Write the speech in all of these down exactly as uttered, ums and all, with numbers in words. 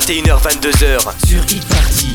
vingt et une heures vingt-deux heures sur Hit Party.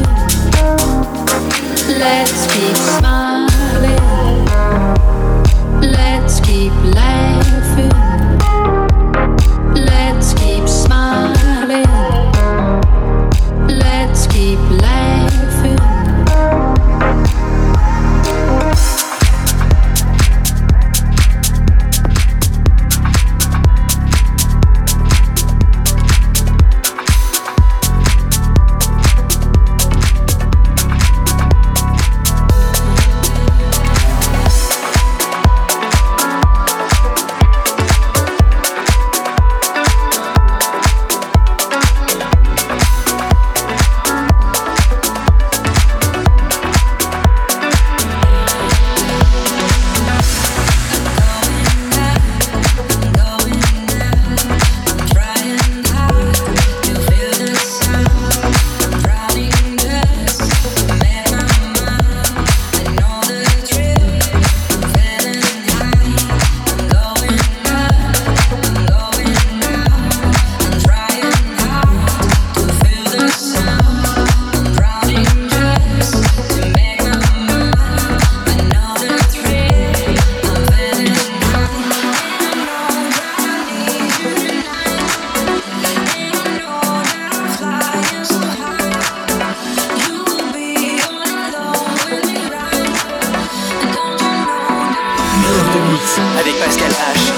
Let's keep smiling. Pascal H.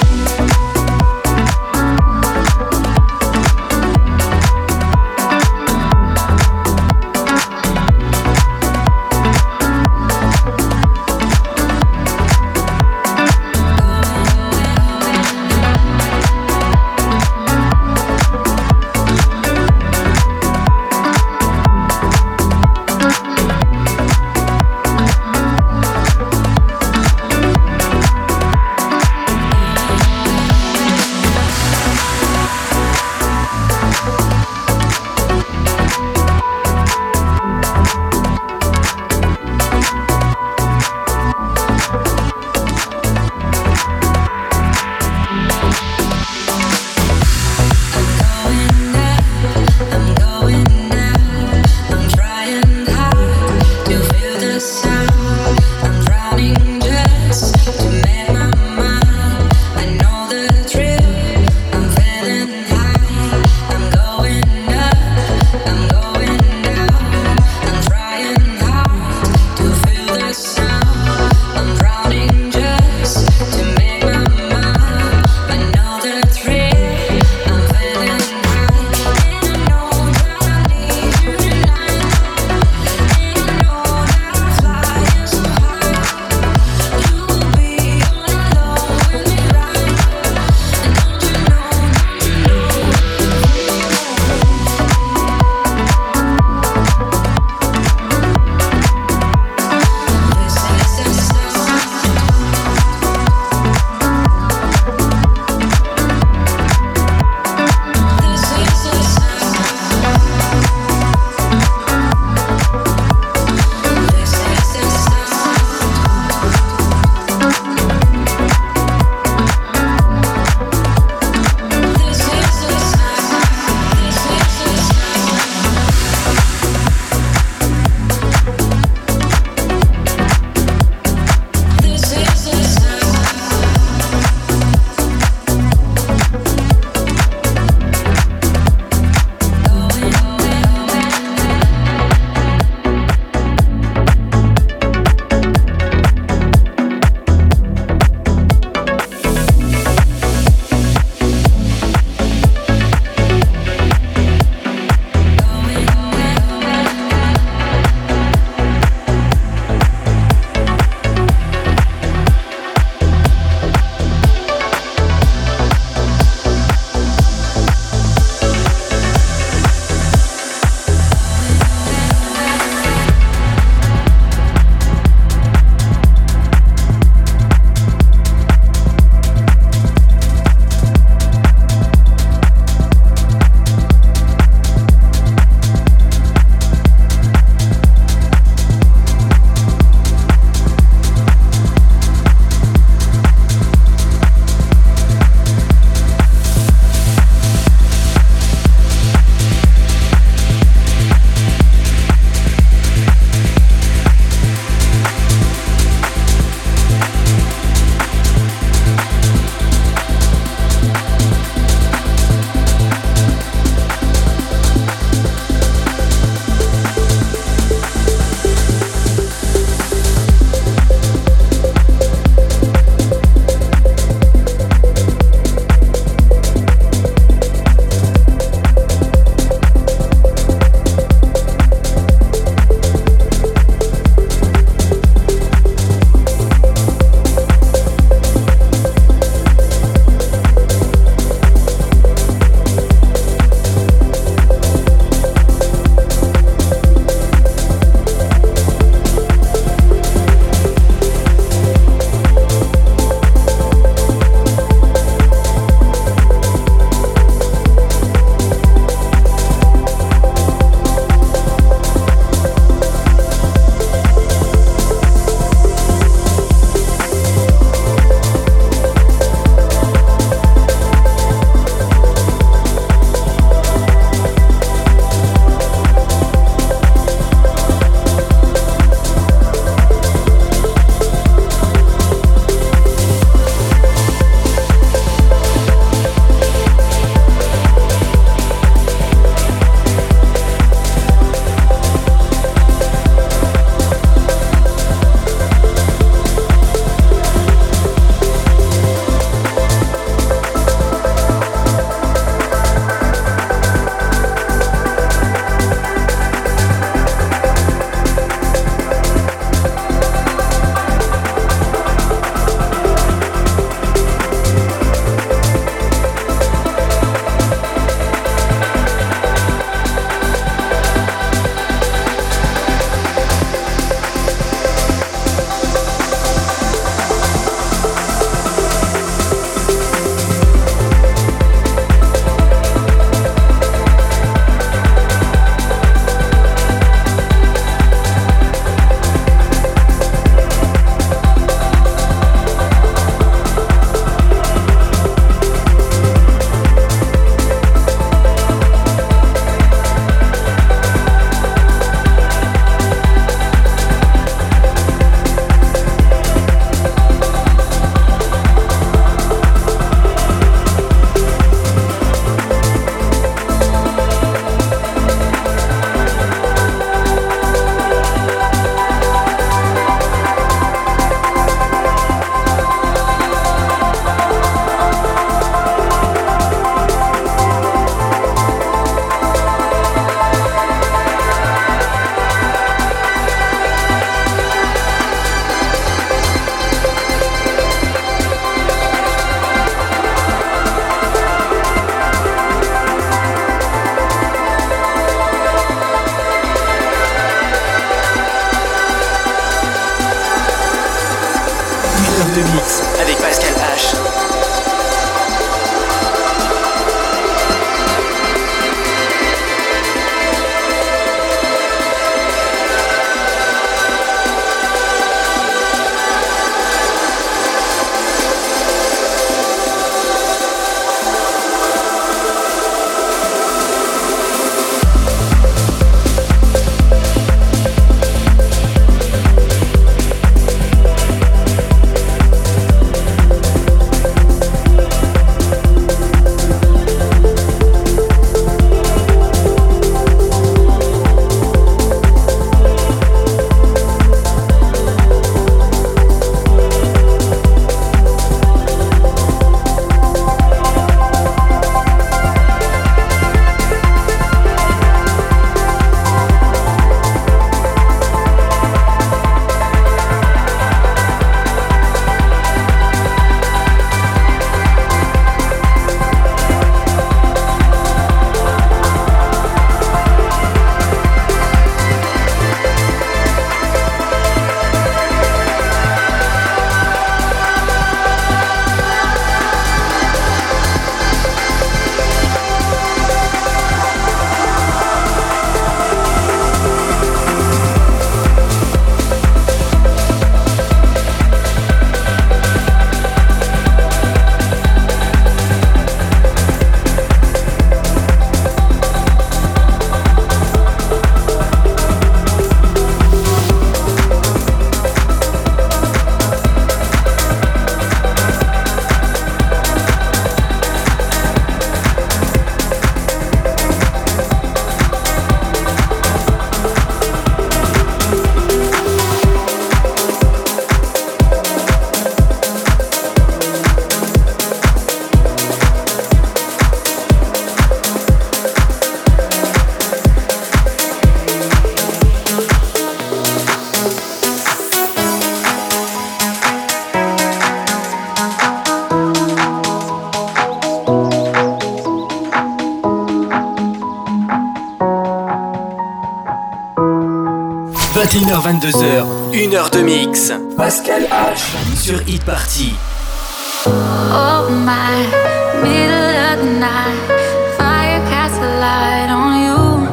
vingt et une heures vingt-deux heures, une heure de mix. Pascal H sur Hit Party. Oh my, middle of the night, fire casts a light on you.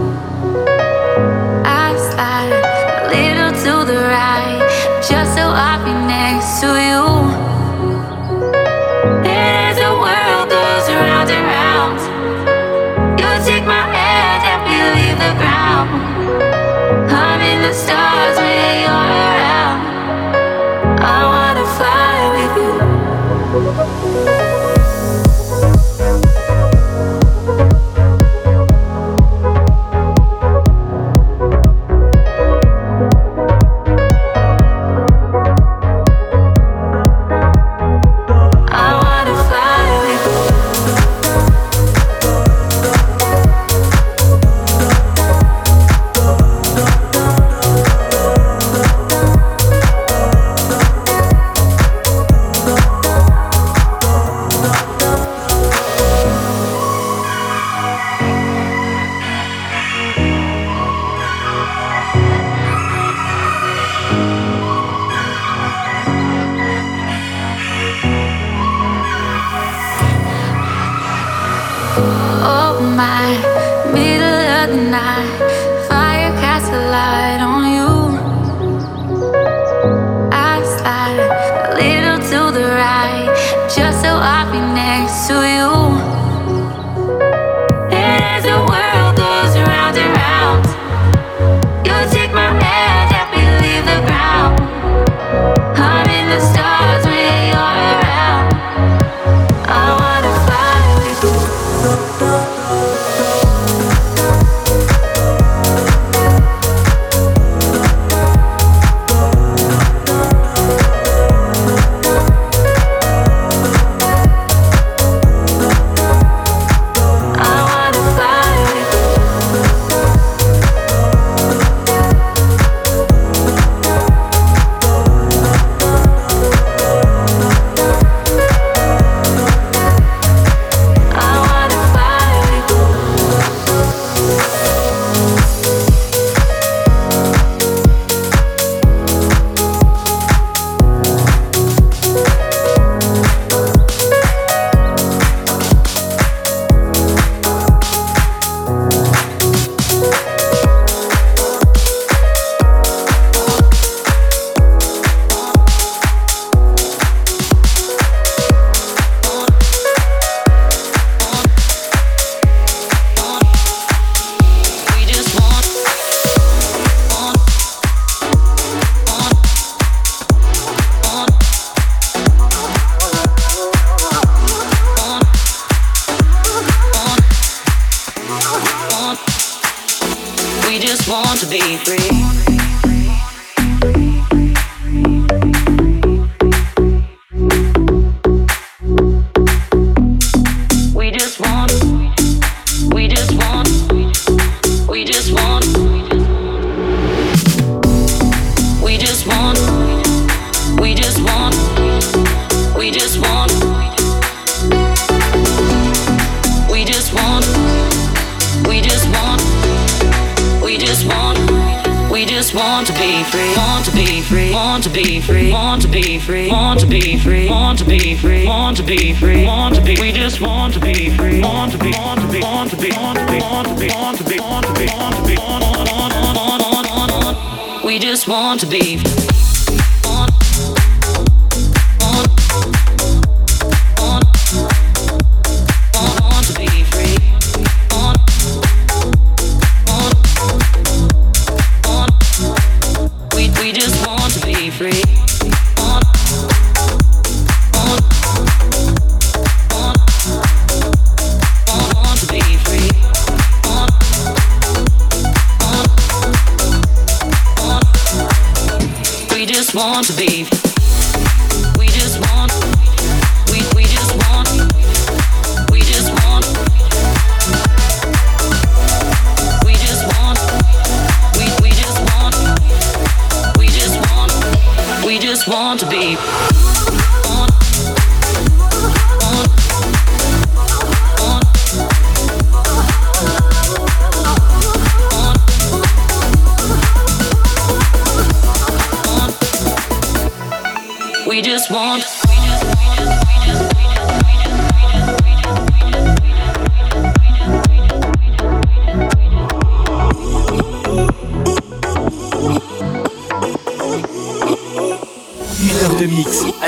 I slide a little to the right, just so I'll be next to you. And as the world goes round and round, you take my hand and we leave the ground. I'm in the stars when you're around. I wanna fly with you.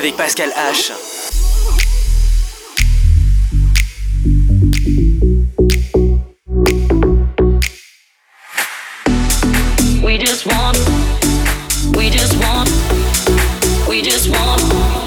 avec Pascal H. We just want, we just want, we just want.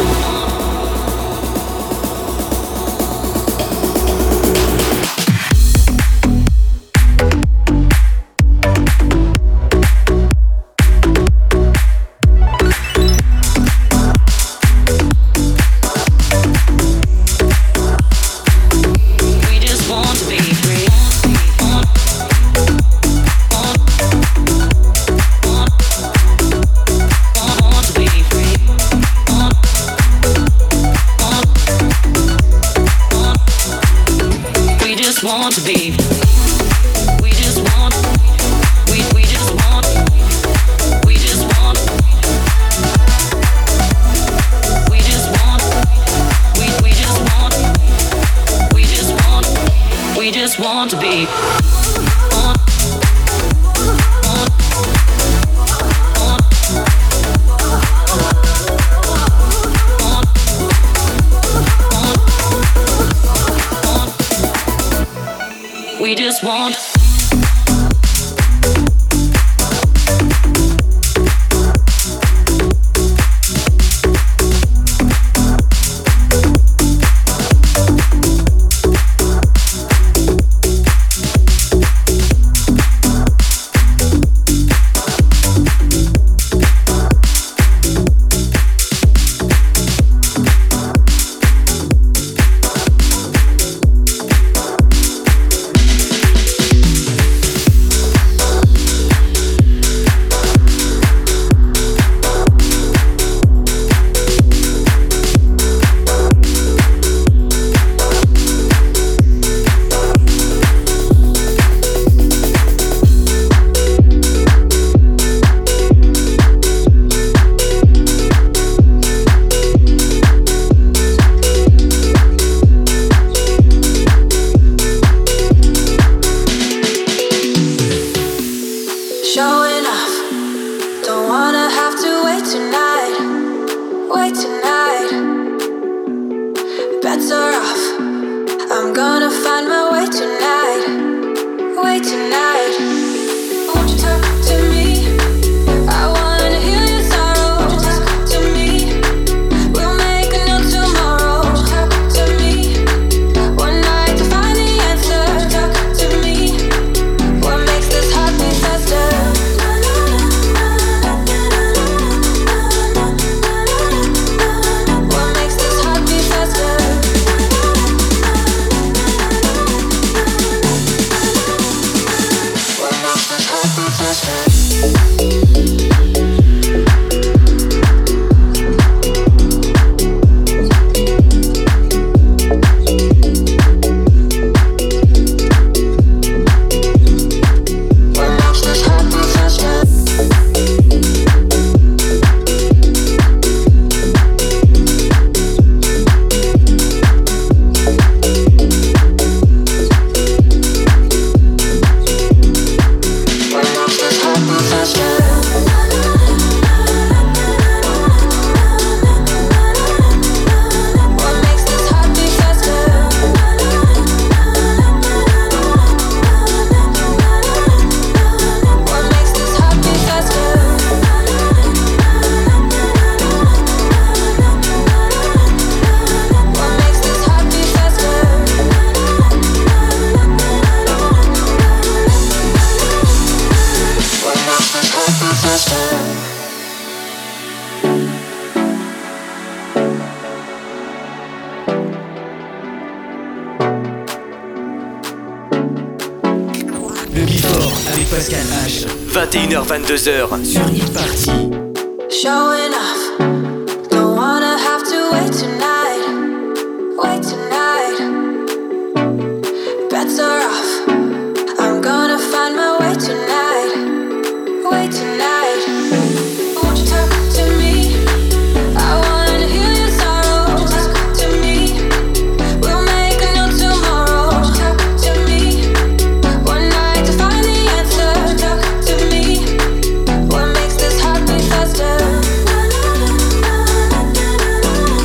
Want to be. We just want. We we just want. We just want. We just want. We we just want. We just want. We just want to be. On. On. On. We just want. vingt et une heures vingt-deux heures sur Hit Party. Showing off, don't wanna have to wait tonight, wait tonight. Bets are off, I'm gonna find my way tonight, way tonight. Won't you talk to me? I wanna heal your sorrow. Talk to me, we'll make a new tomorrow. Talk to me, one night to find the answer. Talk to me, what makes this heart beat faster?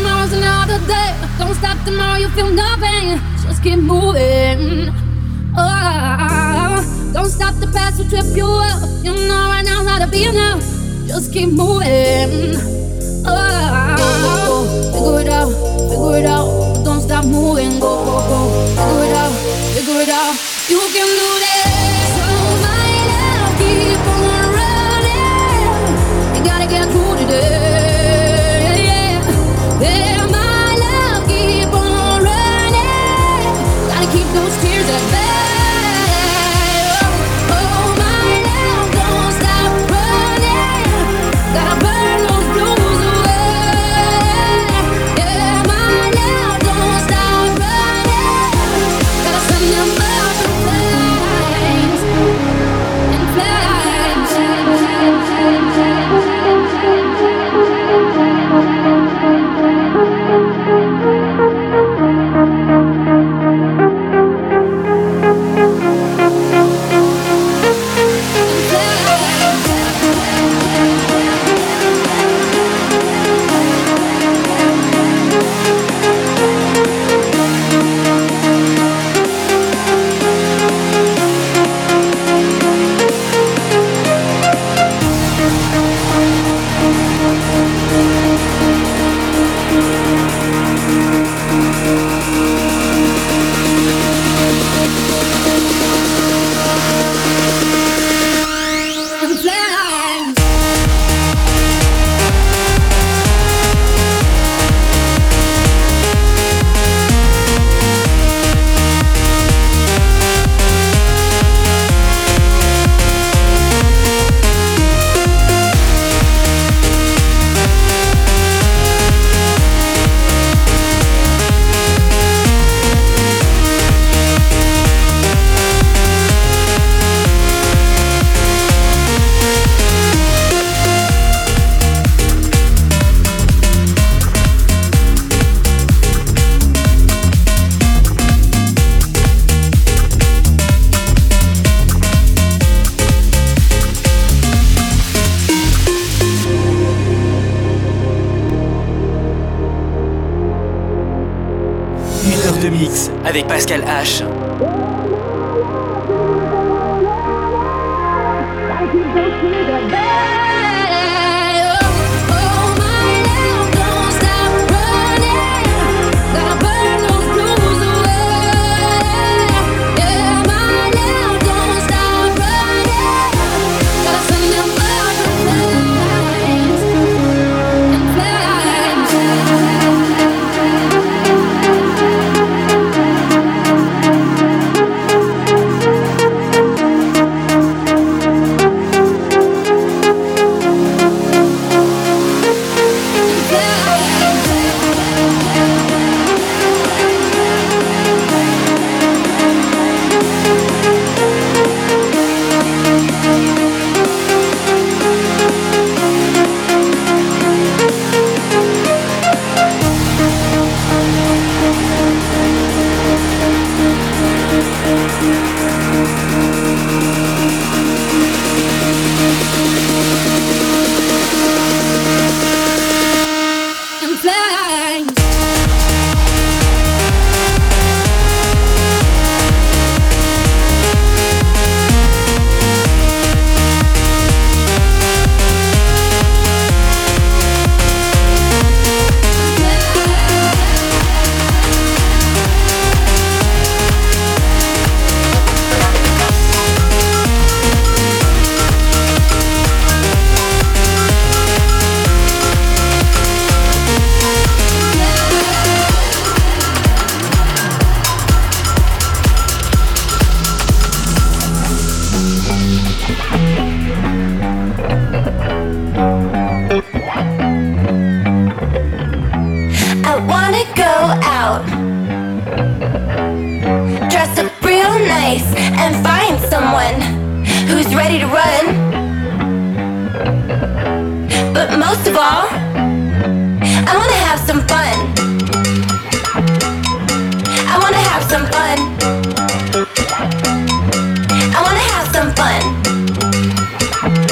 tomorrow's another day. Don't stop tomorrow, you feel nothing. Just keep moving. Oh, don't stop the past will trip you up. You know right now how to be enough. Just keep moving. Oh, figure it out, figure it out. Don't stop moving. Go, go, go. Figure it out, figure it out. You can do this. So my love, keep on running. You gotta get through today. Yeah, yeah, my love, keep on running. Gotta keep those tears at bay. Avec Pascal H.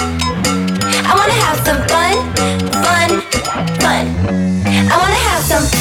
some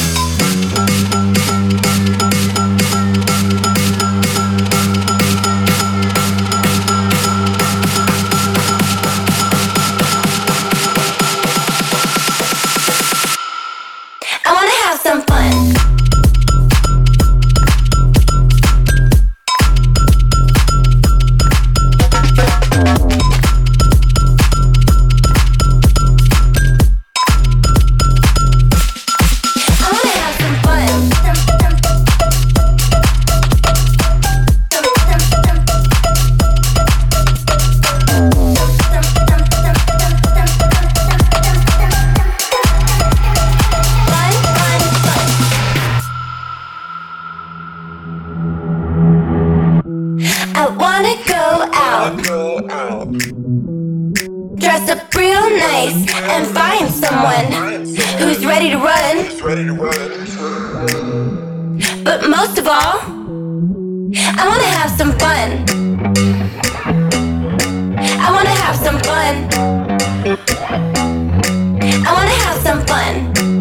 place and find someone who's ready to run. But most of all, I wanna have some fun. I wanna have some fun. I wanna have some fun.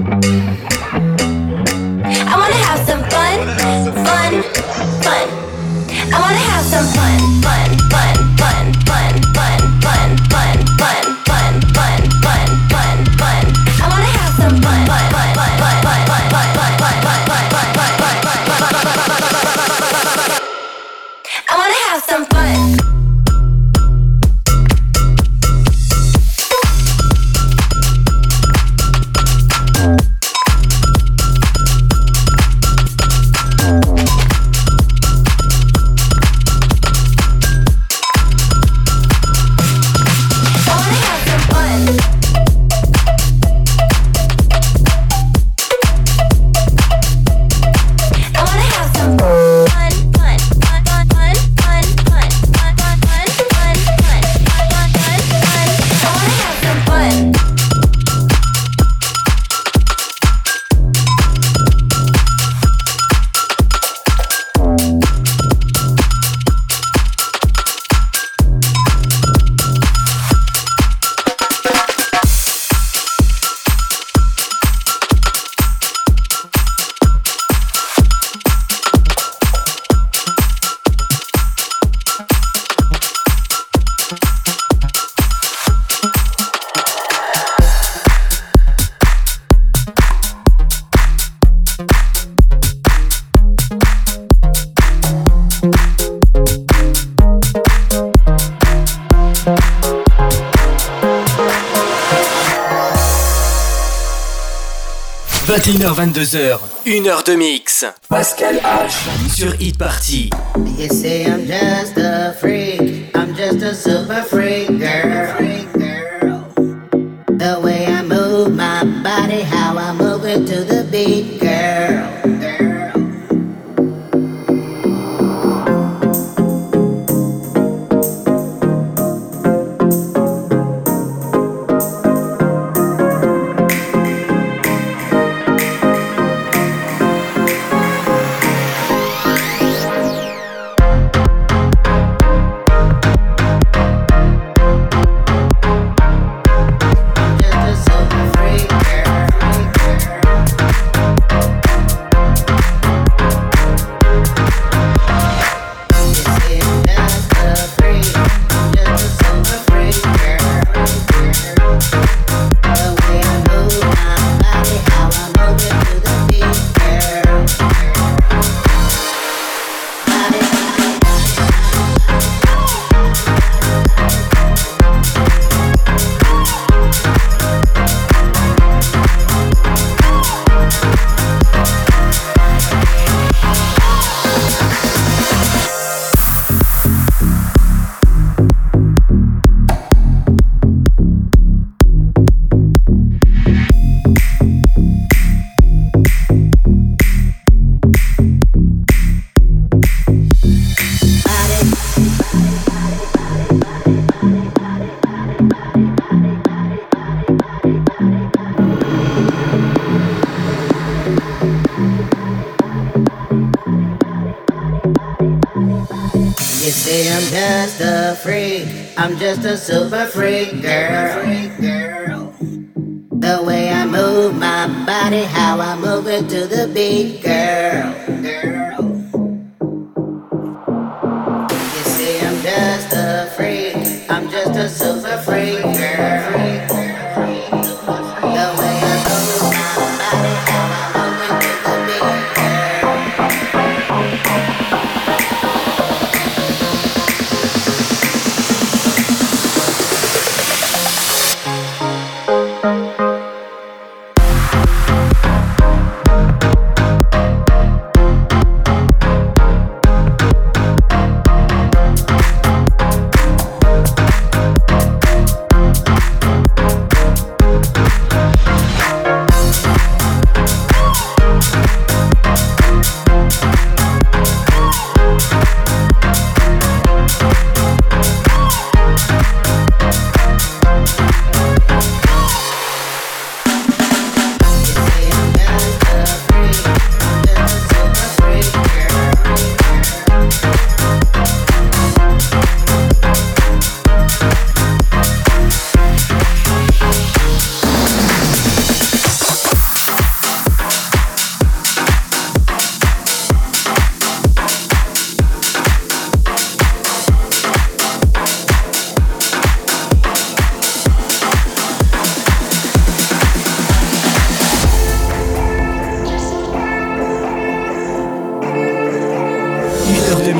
I wanna have some fun, fun, fun. I wanna have some fun, fun, fun, fun, fun, fun, fun, fun, fun, fun, fun, fun, fun, fun. I wanna have some fun, fun, fun, fun, fun, fun, fun, fun, fun, fun, fun, fun, fun, fun, fun. I wanna have some fun. vingt et une heures vingt-deux heures, une heure de mix. Pascal H sur Hit Party. You say I'm just a freak, I'm just a super freak girl. The way I move my body, how I move it to the beat, girl. I'm just a super freak girl. The way I move my body, how I move it to the beat, girl. You see, I'm just a freak. I'm just a super freak girl. The way I move my body, how I move it to the beat, girl.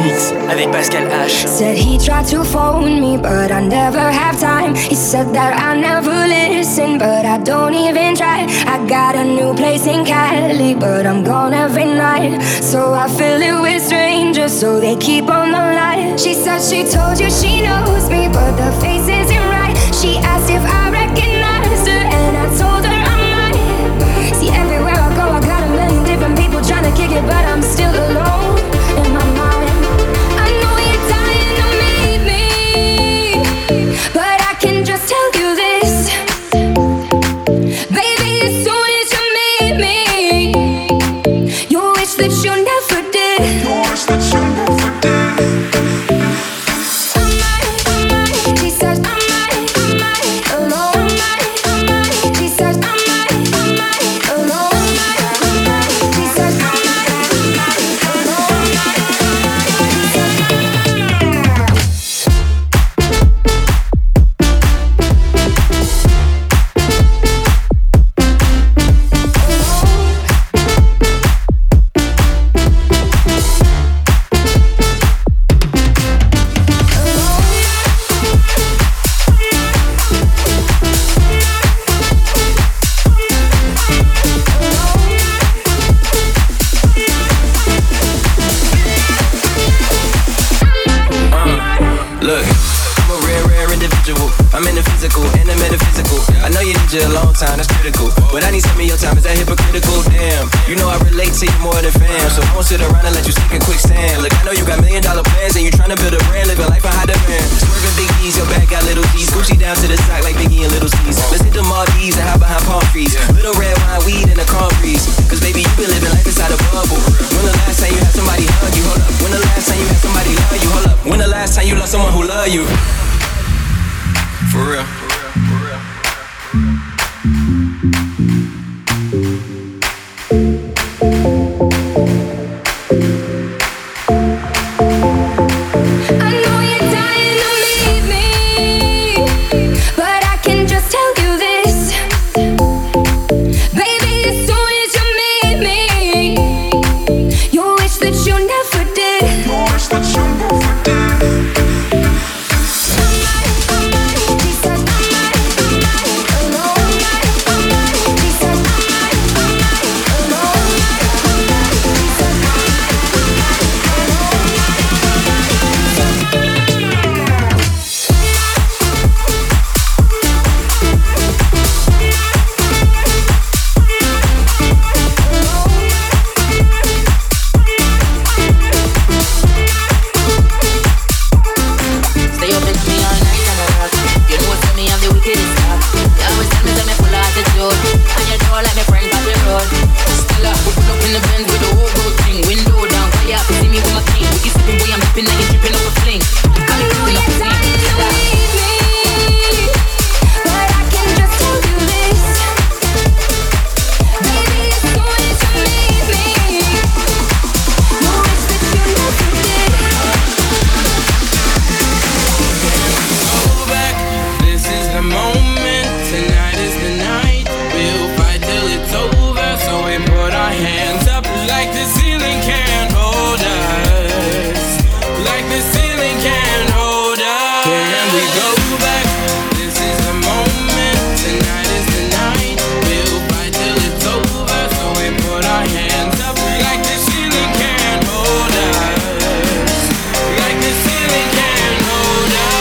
Mix avec Pascal H. Said he tried to phone me, but I never have time. He said that I never listen, but I don't even try. I got a new place in Cali, but I'm gone every night. So I fill it with strangers, so they keep on the line. She said she told you she knows me, but the face isn't right. She asked if I recognized her, and I told her I might. See, everywhere I go, I got a million different people trying to kick it, but I'm still alone in my mind. I know you're dying to meet me, but I can just tell you this, baby, as soon as you meet me, you wish that you never did. You wish that you never did. I might, I might, she says I might, I might, alone. I might, I might, she says I might, I might, alone. I might, she says I might, I might, alone. Look, I'm a rare, rare individual. I'm in the physical and the metaphysical. I know you need you a long time, that's critical. But I need some of your time, is that hypocritical? Damn, you know I relate to you more than fam. So I won't sit around and let you sink in quicksand. Look, I know you got million dollar plans and you tryna build a brand, living life on high demand. Swerving big E's, your back got little G's. Gucci down to the sock like Biggie and Little C's. Let's hit the Maldives and hide behind palm trees. Little red wine, weed, and a calm breeze. Cause baby, you been living life inside a bubble. When the last time you had somebody hug you? Hold up. When the last time you had somebody love you? Hold up. When the last time you loved someone who loved you? For real. I know you're dying to meet me, but I can just tell you this, baby, as soon as you meet me, you wish that you never did. You wish that you never did. I might, I might, she says I might, I might, alone. I might, she says I might, I might, alone. I might, she says I might, I might, alone. Stay up with me all night and a rock. You know what's me, I'm the wickedest top. You always tell me that me full of attitude, and you know like my friend on the road. Still up, we pull up in the Benz with the whole gold thing. Window down, why you have to see me with my king? We keep sipping, boy, I'm dipping, now you dripping up a fling. I know you're dying to meet me, but I can just tell you this, baby, as soon as you meet me, you wish that you never did. Go back, this is the moment. Tonight is the night. We'll fight till it's over. So we put our hands up like the ceiling can't hold us. Like the ceiling can't hold us. Can we go back? This is the moment. Tonight is the night. We'll fight till it's over. So we put our hands up like the ceiling can't hold us. Like the ceiling can't hold us.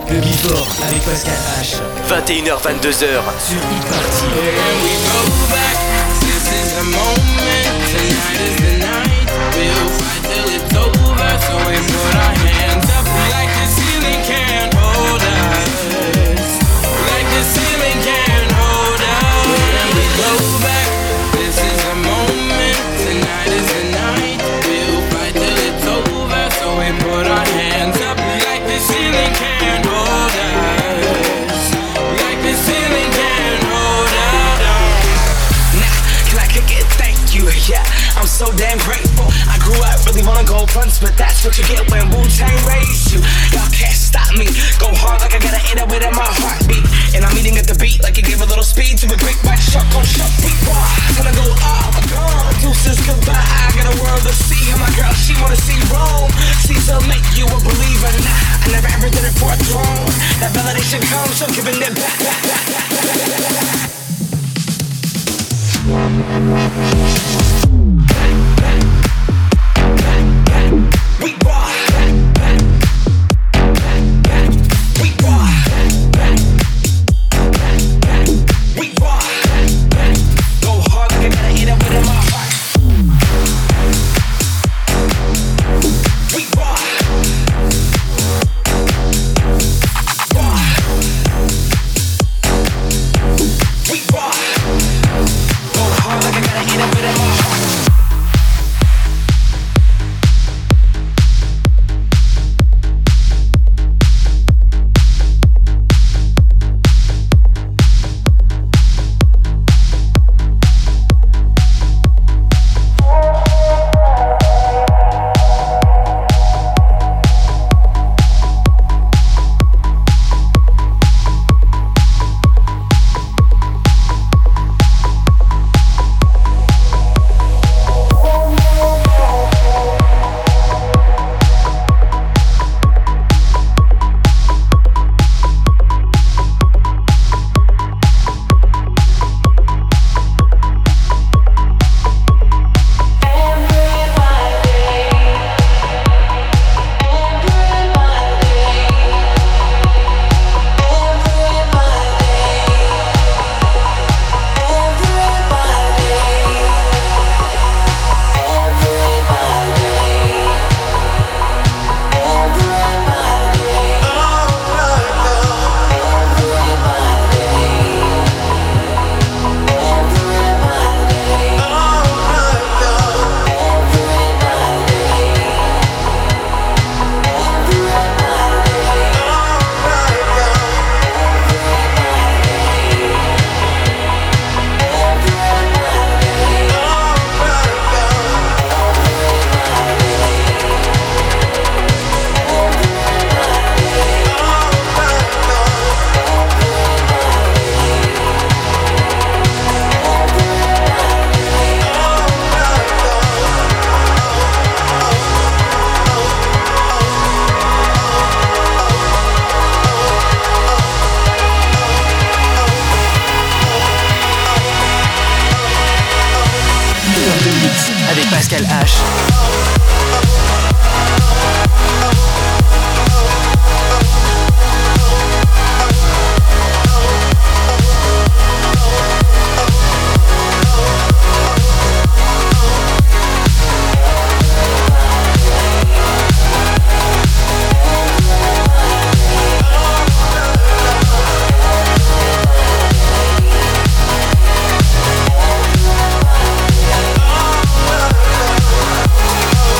Le Before avec Pascal H. vingt et une heures vingt-deux heures sur Hit Party. And we go back, this is the moment, tonight is the night. We'll fight till it's over, so we put our hands up like the ceiling can't hold us. Like the ceiling can't hold us. And we go back, this is the moment, tonight is the night. We'll fight till it's over, so we put our hands up like the ceiling can't hold us. Like the ceiling can't hold us. Nah, can I kick it? Thank you, yeah, I'm so damn grateful. I grew up really wanna go fronts, but that's what you get when Wu-Tang raised you. Y'all can't stop me, go hard like I gotta hit it with my heartbeat. And I'm eating at the beat like it gave a little speed to a big white shark on shark beat. Time to go off, gone, deuces goodbye. I got a world to see, and my girl, she wanna see Rome. Caesar make you a believer, nah, I never ever did it for a throne. That validation comes from giving it back, back, back, back, back, back. We rock. We rock. We rock. Go hard like I gotta hit it with my heart. We rock. Rock. We rock. Go hard like I gotta hit it with my heart. Avec Pascal H. Oh,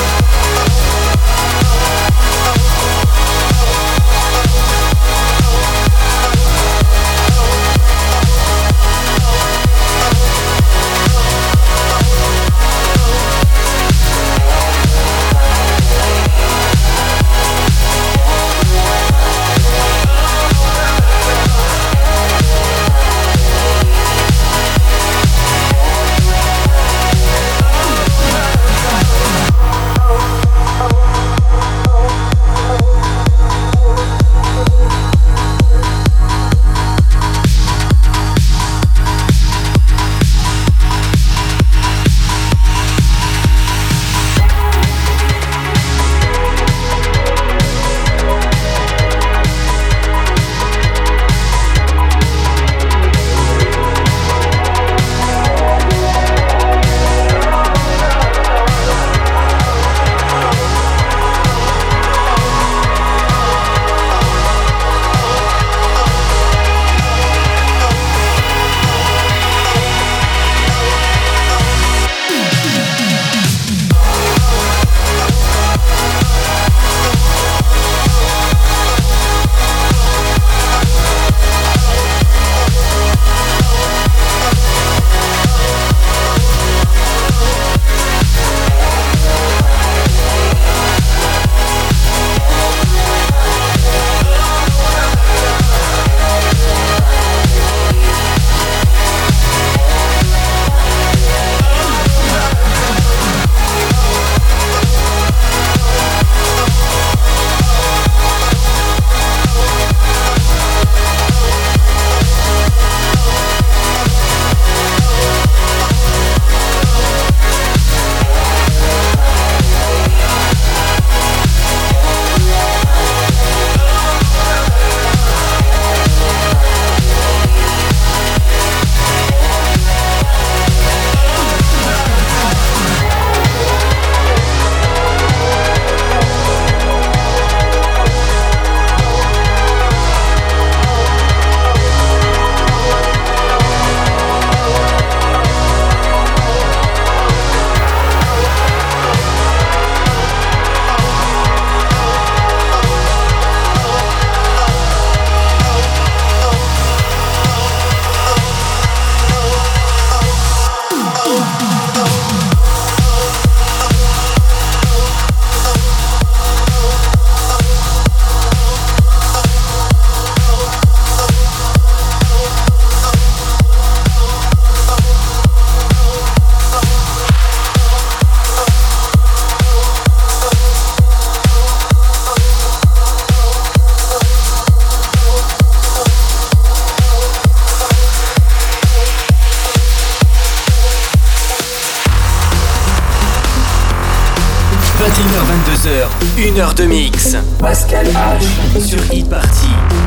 vingt et une heures vingt-deux heures, une heure de mix. Pascal H sur Hit Party.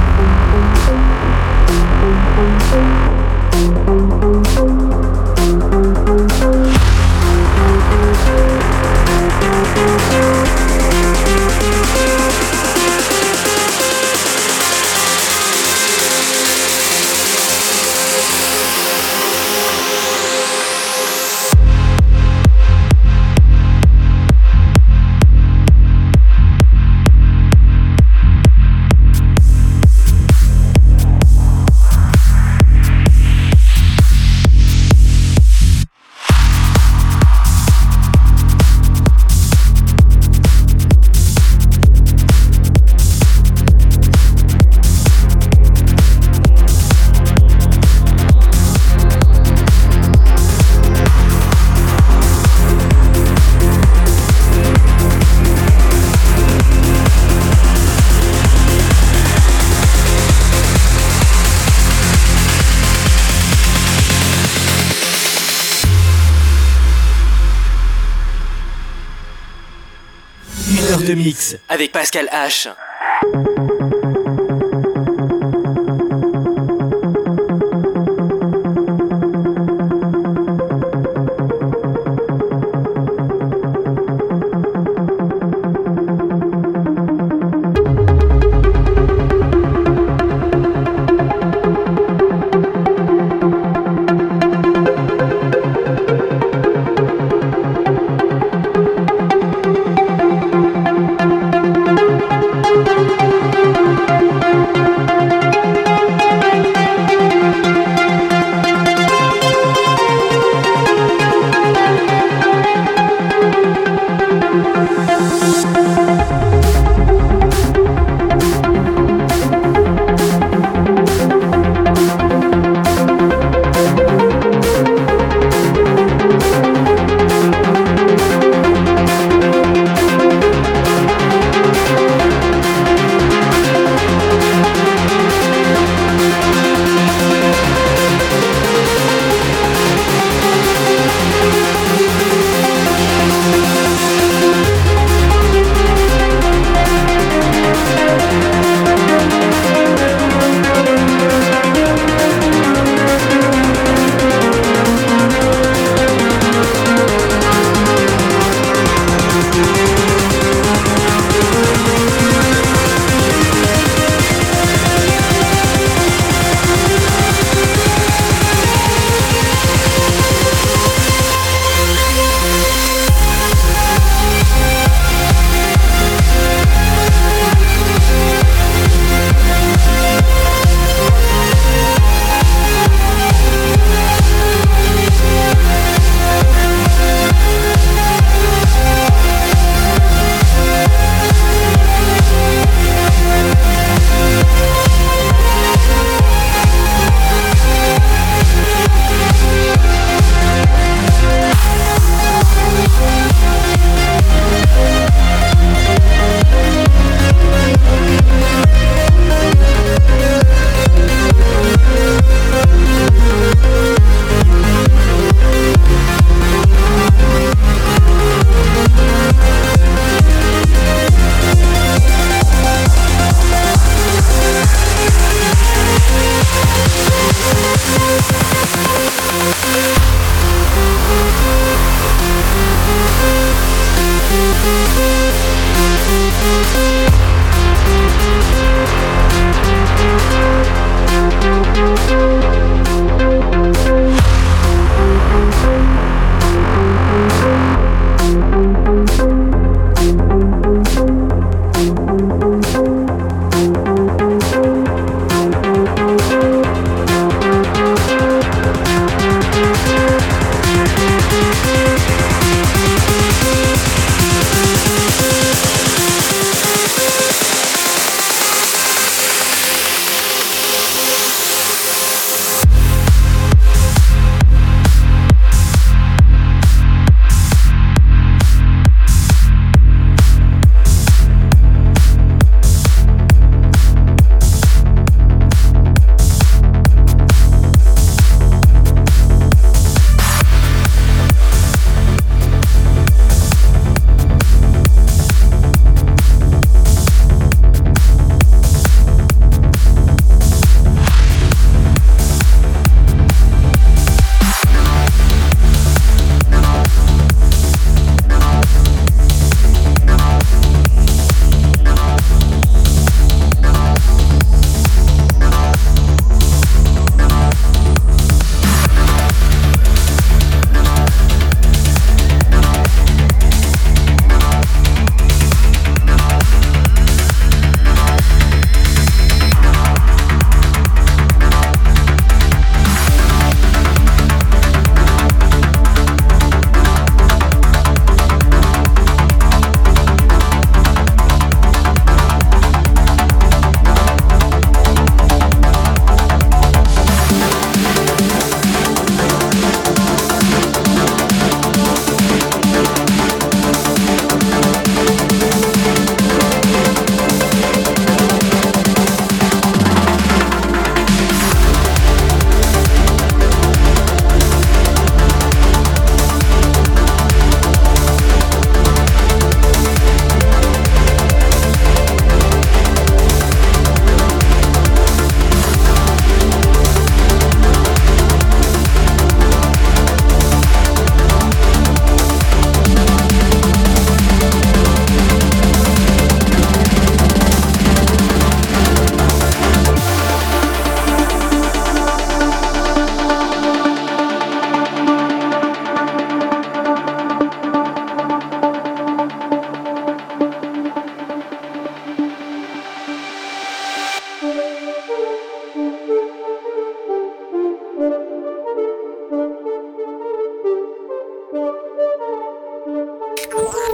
De mix avec Pascal H.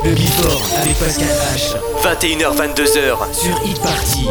Le Before avec Pascal H. vingt et une heures vingt-deux heures sur Hit Party.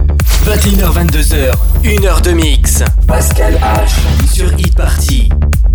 vingt et une heures vingt-deux heures, une heure de mix. Pascal H sur Hit Party.